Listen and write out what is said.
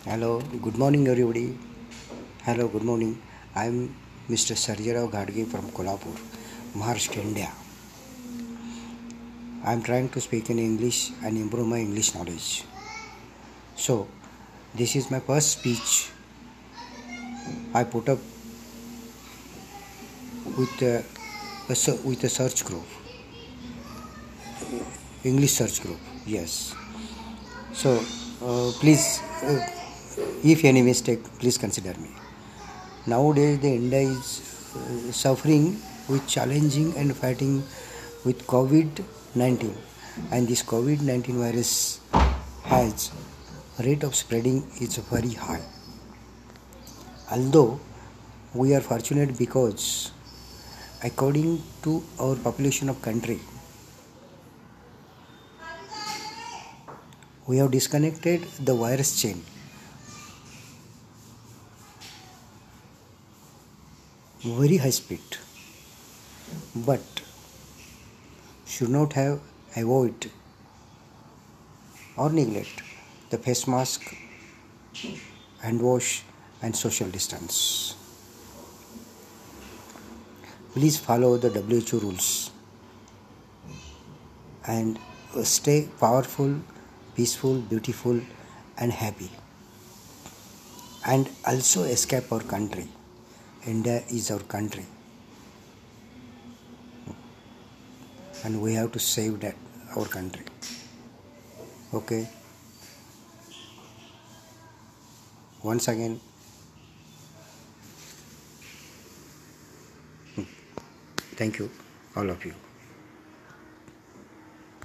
Hello, good morning everybody. Hello, good morning. I'm Mr. Sarjarao Ghadge from Kolhapur, Maharashtra, India. I'm trying to speak in English and improve my English knowledge. So, this is my first speech I put up with a search group, English search group. Yes. So, please, if any mistake, please consider me. Nowadays, the India is suffering with challenging and fighting with COVID-19, and this COVID-19 virus has rate of spreading is very high. Although we are fortunate because according to our population of country, we have disconnected the virus chain very high speed, but should not have avoid or neglect the face mask, hand wash and social distance. Please follow the WHO rules and stay powerful, peaceful, beautiful and happy, and also escape our country. India is our country and we have to save that our country. Okay, once again, thank you all of you.